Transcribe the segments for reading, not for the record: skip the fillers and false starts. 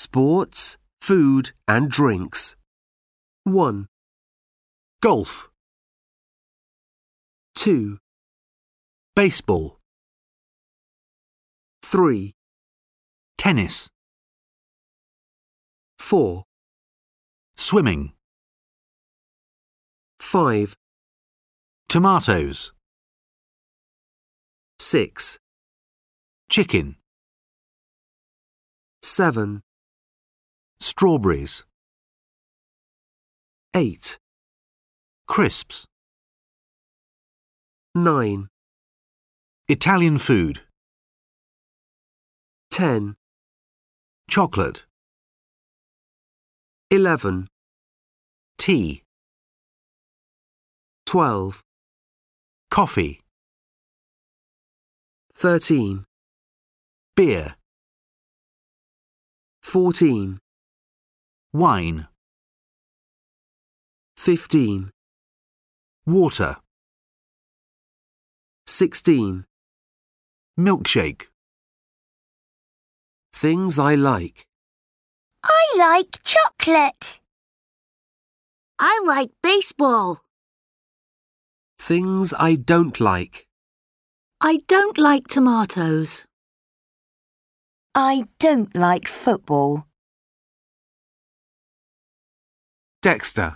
Sports, food and drinks. 1, Golf. 2, Baseball. 3, Tennis. 4, Swimming. 5, Tomatoes. 6, Chicken. 7, Strawberries. 8, Crisps. 9, Italian food. 10, Chocolate. 11, Tea. 12, Coffee. 13, Beer. 14, Wine. 15, Water. 16. Milkshake. Things I like. I like chocolate. I like baseball. Things I don't like. I don't like tomatoes. I don't like football. Dexter.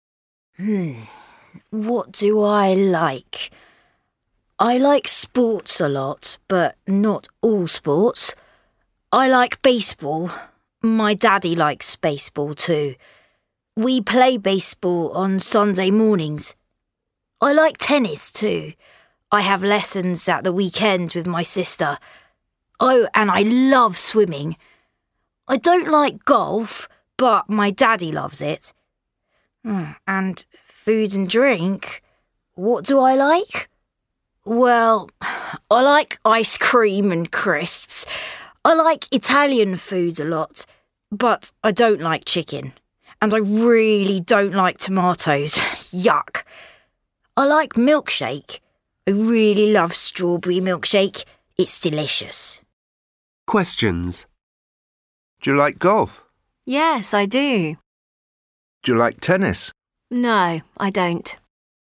What do I like? I like sports a lot, but not all sports. I like baseball. My daddy likes baseball too. We play baseball on Sunday mornings. I like tennis too. I have lessons at the weekend with my sister. Oh, and I love swimming. I don't like golf, but my daddy loves it. And food and drink. What do I like? Well, I like ice cream and crisps. I like Italian food a lot, but I don't like chicken. And I really don't like tomatoes. Yuck. I like milkshake. I really love strawberry milkshake. It's delicious. Questions. Do you like golf? Yes, I do. Do you like tennis? No, I don't.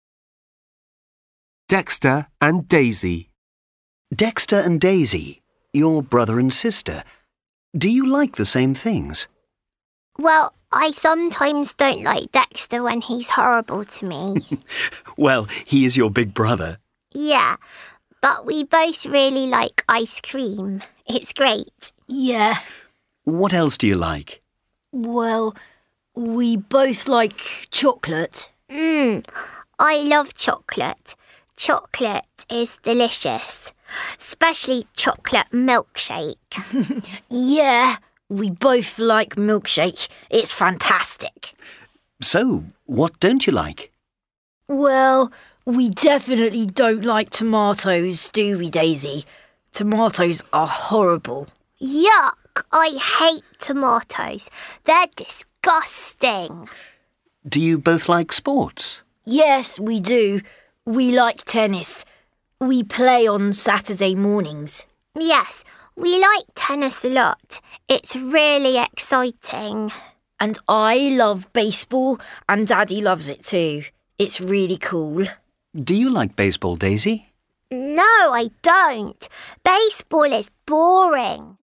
Dexter and Daisy. Dexter and Daisy, your brother and sister. Do you like the same things? Well, I sometimes don't like Dexter when he's horrible to me. Well, he is your big brother. Yeah, but we both really like ice cream. It's great. Yeah, What else do you like? well, we both like chocolate. I love chocolate. Chocolate is delicious, especially chocolate milkshake. Yeah, we both like milkshake. It's fantastic. So, what don't you like? Well, we definitely don't like tomatoes, do we, Daisy? Tomatoes are horrible. Yuck! I hate tomatoes. They're disgusting. Do you both like sports? Yes, we do. We like tennis. We play on Saturday mornings. Yes, we like tennis a lot. It's really exciting. And I love baseball, and Daddy loves it too. It's really cool. Do you like baseball, Daisy? No, I don't. Baseball is boring.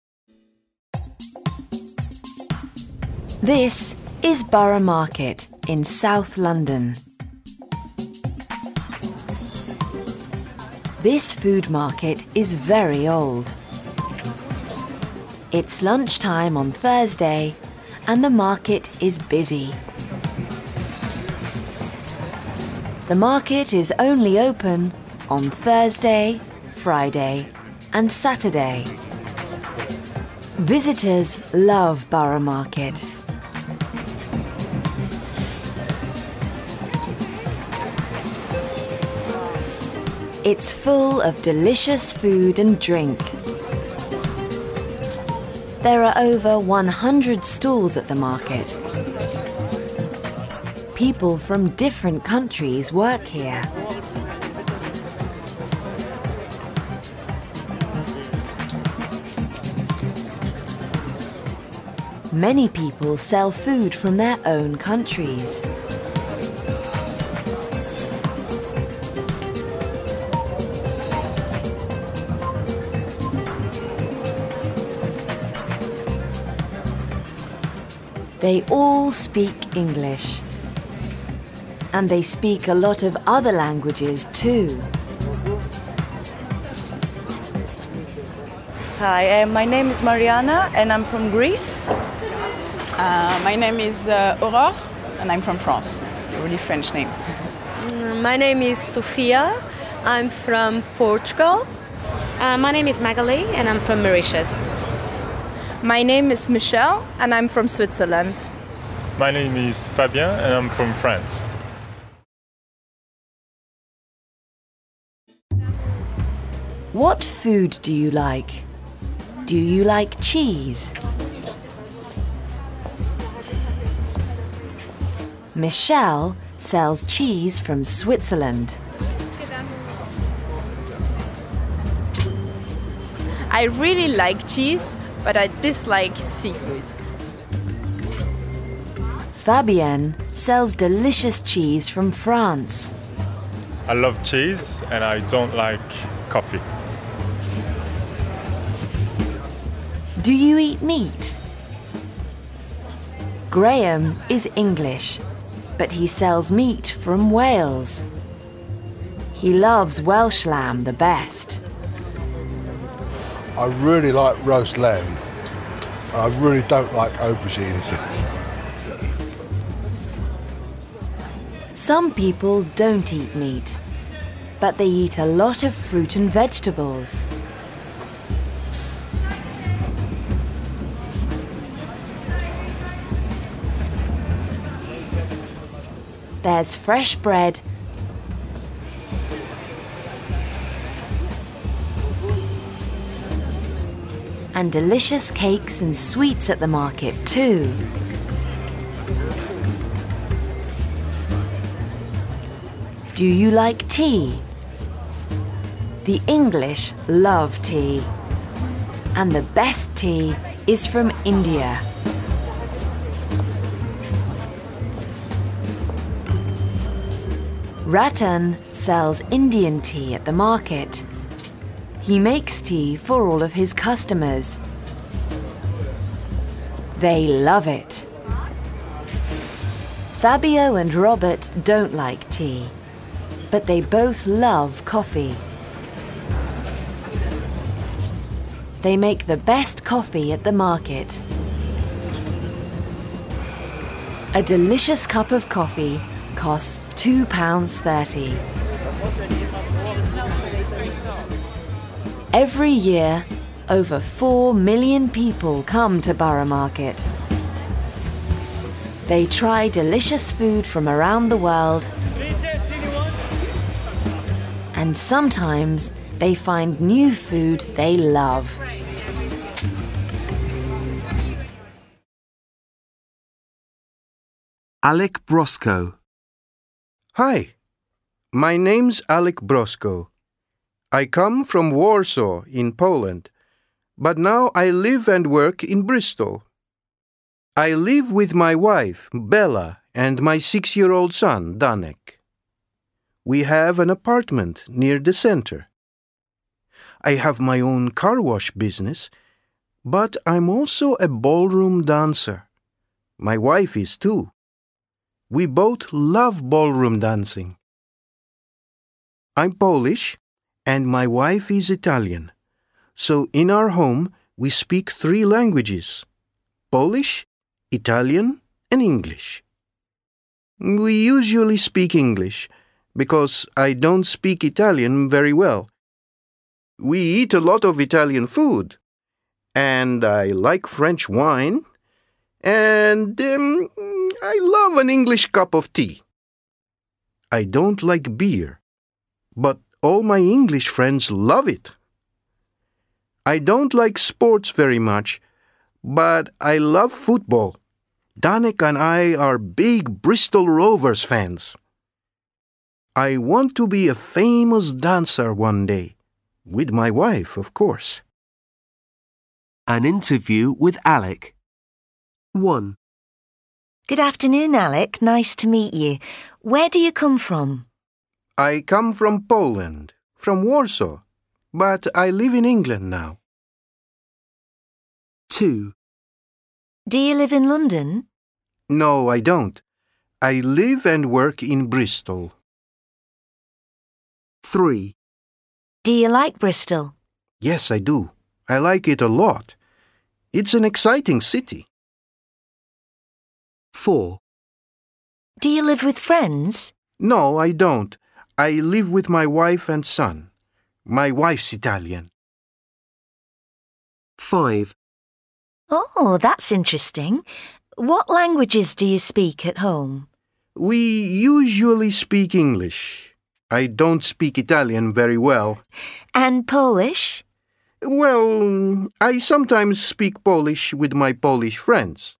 This is Borough Market in South London. This food market is very old. It's lunchtime on Thursday and the market is busy. The market is only open on Thursday, Friday and Saturday. Visitors love Borough Market. It's full of delicious food and drink. There are over 100 stalls at the market. People from different countries work here. Many people sell food from their own countries. They all speak English. And they speak a lot of other languages too. Hi, my name is Mariana and I'm from Greece. My name is Aurore and I'm from France. A really French name. My name is Sofia. I'm from Portugal. My name is Magali and I'm from Mauritius. My name is Michelle and I'm from Switzerland. My name is Fabien and I'm from France. What food do you like? Do you like cheese? Michelle sells cheese from Switzerland. I really like cheese, but I dislike seafood. Fabienne sells delicious cheese from France. I love cheese and I don't like coffee. Do you eat meat? Graham is English, but he sells meat from Wales. He loves Welsh lamb the best. I really like roast lamb. I really don't like aubergines. Some people don't eat meat, but they eat a lot of fruit and vegetables. There's fresh bread and delicious cakes and sweets at the market too. Do you like tea? The English love tea, and the best tea is from India. Ratan sells Indian tea at the market. He makes tea for all of his customers. They love it. Fabio and Robert don't like tea, but they both love coffee. They make the best coffee at the market. A delicious cup of coffee costs £2.30. Every year, over 4 million people come to Borough Market. They try delicious food from around the world, and sometimes they find new food they love. Alec Brosco. Hi, my name's Alec Brosco. I come from Warsaw in Poland, but now I live and work in Bristol. I live with my wife, Bella, and my 6-year-old son, Danek. We have an apartment near the center. I have my own car wash business, but I'm also a ballroom dancer. My wife is too. We both love ballroom dancing. I'm Polish, and my wife is Italian. So in our home, we speak 3 languages: Polish, Italian, and English. We usually speak English, because I don't speak Italian very well. We eat a lot of Italian food, and I like French wine, and I love an English cup of tea. I don't like beer, but all my English friends love it. I don't like sports very much, but I love football. Danek and I are big Bristol Rovers fans. I want to be a famous dancer one day, with my wife, of course. An interview with Alec. 1. Good afternoon, Alec. Nice to meet you. Where do you come from? I come from Poland, from Warsaw, but I live in England now. 2. Do you live in London? No, I don't. I live and work in Bristol. 3. Do you like Bristol? Yes, I do. I like it a lot. It's an exciting city. 4. Do you live with friends? No, I don't. I live with my wife and son. My wife's Italian. 5. Oh, that's interesting. What languages do you speak at home? We usually speak English. I don't speak Italian very well. And Polish? Well, I sometimes speak Polish with my Polish friends.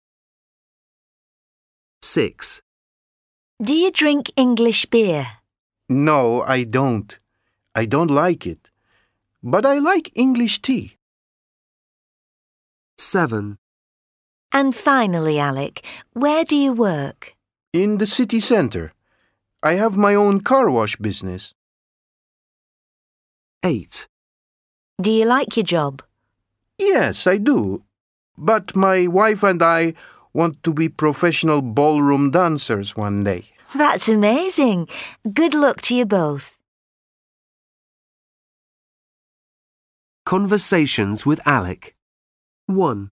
6. Do you drink English beer? No, I don't. I don't like it. But I like English tea. 7. And finally, Alec, where do you work? In the city centre. I have my own car wash business. 8. Do you like your job? Yes, I do. But my wife and I want to be professional ballroom dancers one day. That's amazing. Good luck to you both. Conversations with Alec. 1.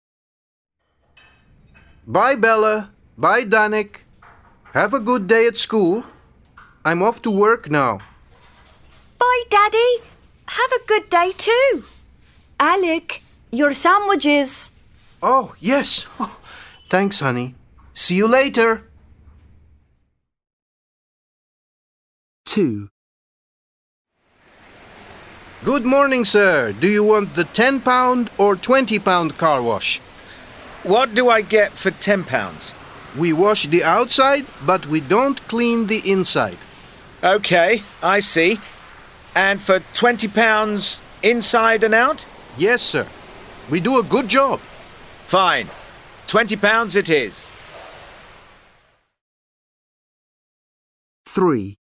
Bye, Bella. Bye, Danik. Have a good day at school. I'm off to work now. Bye, Daddy. Have a good day too. Alec, your sandwiches. Oh, yes. Oh, thanks, honey. See you later. 2. Good morning, sir. Do you want the £10 or £20 car wash? What do I get for £10? We wash the outside, but we don't clean the inside. OK, I see. And for £20 inside and out? Yes, sir. We do a good job. Fine. £20 it is. 3.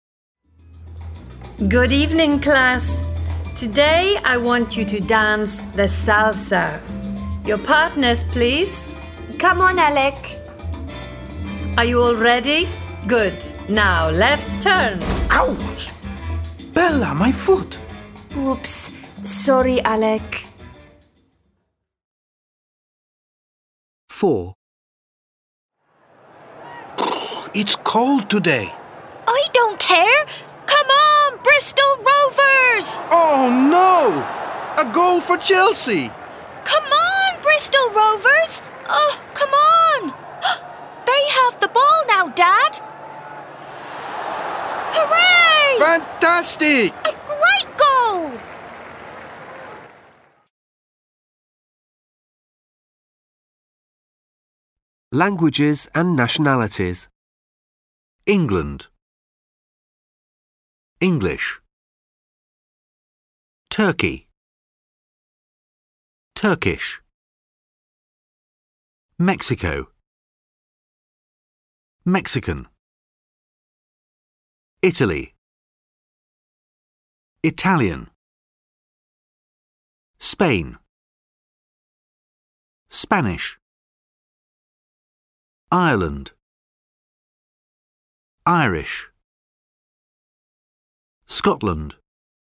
Good evening, class. Today I want you to dance the salsa. Your partners, please. Come on, Alec. Are you all ready? Good. Now, left turn. Ouch! Bella, my foot. Oops. Sorry, Alec. 4. It's cold today. I don't care. Come on, Bristol Rovers! Oh, no! A goal for Chelsea! Come on, Bristol Rovers! Oh, come on! They have the ball now, Dad! Hooray! Fantastic! A great goal! Languages and nationalities. England. English. Turkey. Turkish. Mexico. Mexican. Italy. Italian. Spain. Spanish. Ireland. Irish. Scotland.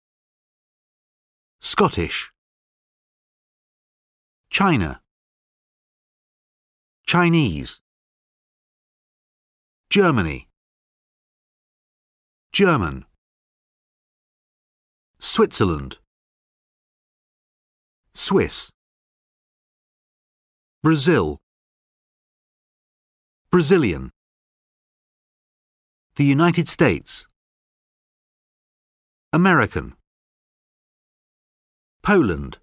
Scottish. China. Chinese. Germany. German. Switzerland. Swiss. Brazil. Brazilian. The United States. American. Poland.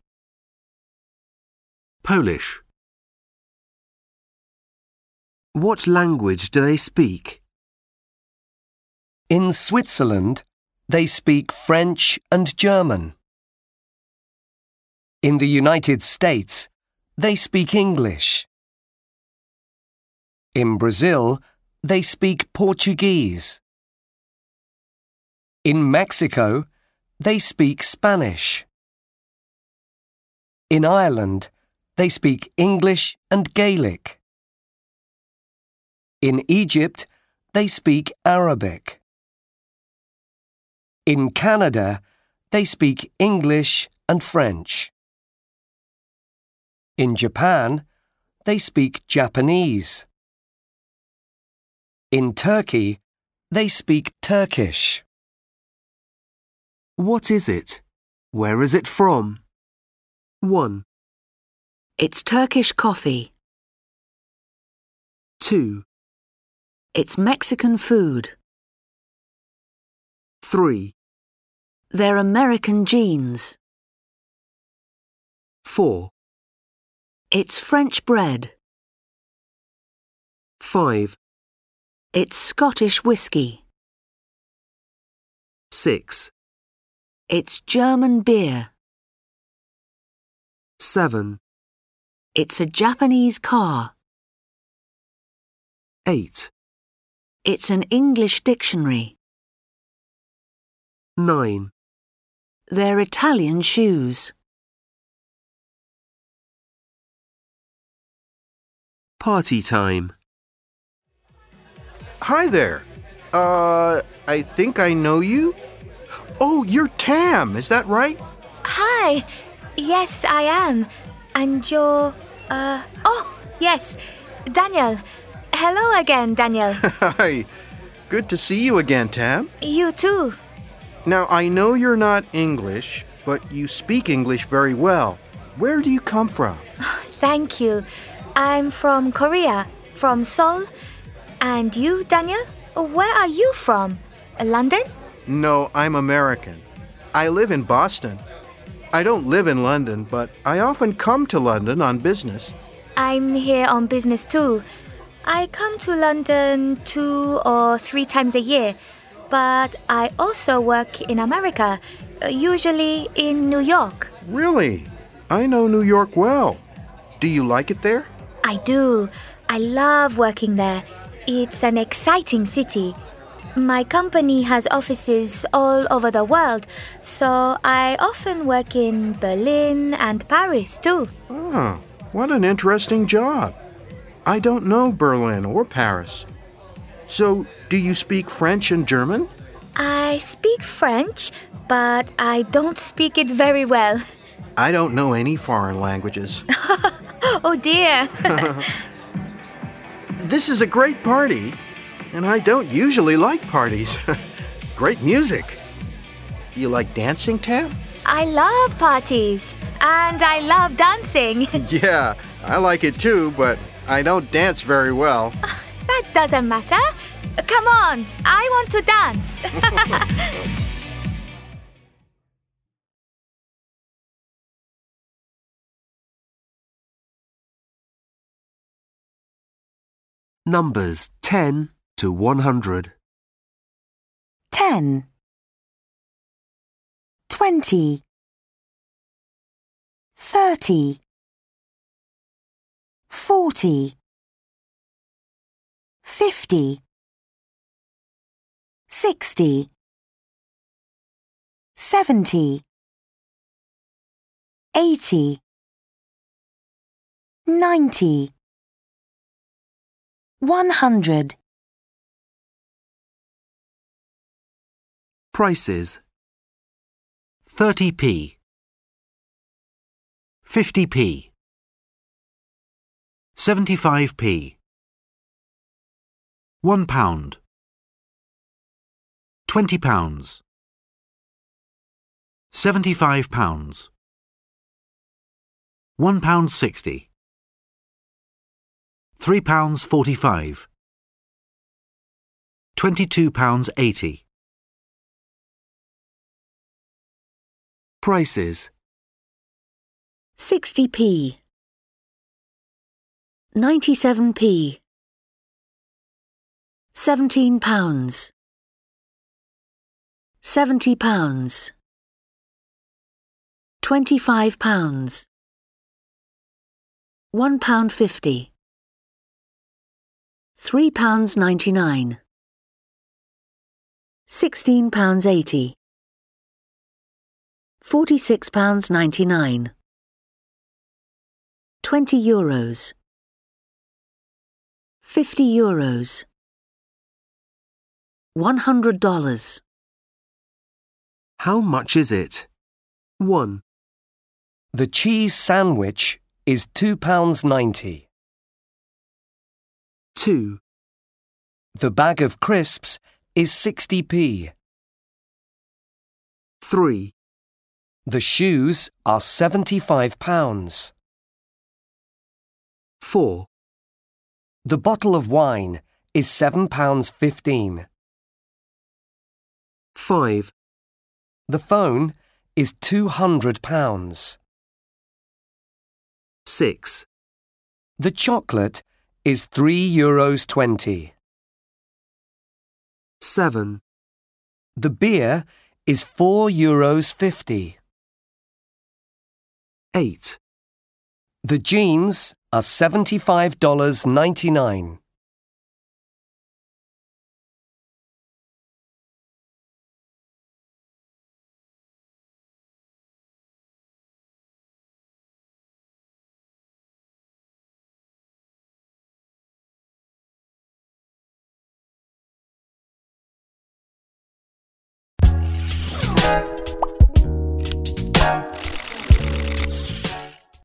Polish. What language do they speak? In Switzerland, they speak French and German. In the United States, they speak English. In Brazil, they speak Portuguese. In Mexico, they speak Spanish. In Ireland, they speak English and Gaelic. In Egypt, they speak Arabic. In Canada, they speak English and French. In Japan, they speak Japanese. In Turkey, they speak Turkish. What is it? Where is it from? 1, It's Turkish coffee. 2, It's Mexican food. 3, They're American jeans. 4, It's French bread. 5, It's Scottish whiskey. 6, It's German beer. 7, It's a Japanese car. 8, It's an English dictionary. 9, They're Italian shoes. Party time. Hi there. I think I know you. Oh, you're Tam, is that right? Hi. Yes, I am. And you're, oh, yes, Daniel. Hello again, Daniel. Hi. Good to see you again, Tam. You too. Now, I know you're not English, but you speak English very well. Where do you come from? Thank you. I'm from Korea, from Seoul. And you, Daniel? Where are you from? London? No, I'm American. I live in Boston. I don't live in London, but I often come to London on business. I'm here on business too. I come to London 2 or 3 times a year, but I also work in America, usually in New York. Really? I know New York well. Do you like it there? I do. I love working there. It's an exciting city. My company has offices all over the world, so I often work in Berlin and Paris too. Ah, what an interesting job. I don't know Berlin or Paris. So, do you speak French and German? I speak French, but I don't speak it very well. I don't know any foreign languages. Oh dear. This is a great party, and I don't usually like parties. Great music. Do you like dancing, Tam? I love parties, and I love dancing. Yeah, I like it too, but I don't dance very well. That doesn't matter. Come on, I want to dance. Numbers 10 to 100. 10, 20, 30, 40, 50, 60, 70, 80, 90, 100. Prices. 30p, 50p, 75p, £1, £20, £75, £1.60, £3.45, £22.80. Prices. 60p, 97p, £17, £70, £25, £1.50. £3.99. £16.80. £46.99. €20. €50. $100. How much is it? 1. The cheese sandwich is £2.90. 2. The bag of crisps is 60p. 3. The shoes are £75. 4. The bottle of wine is £7.15. 5. The phone is £200. 6. The chocolate is €3.20. 7. The beer is €4.50. 8. The jeans are $75.99.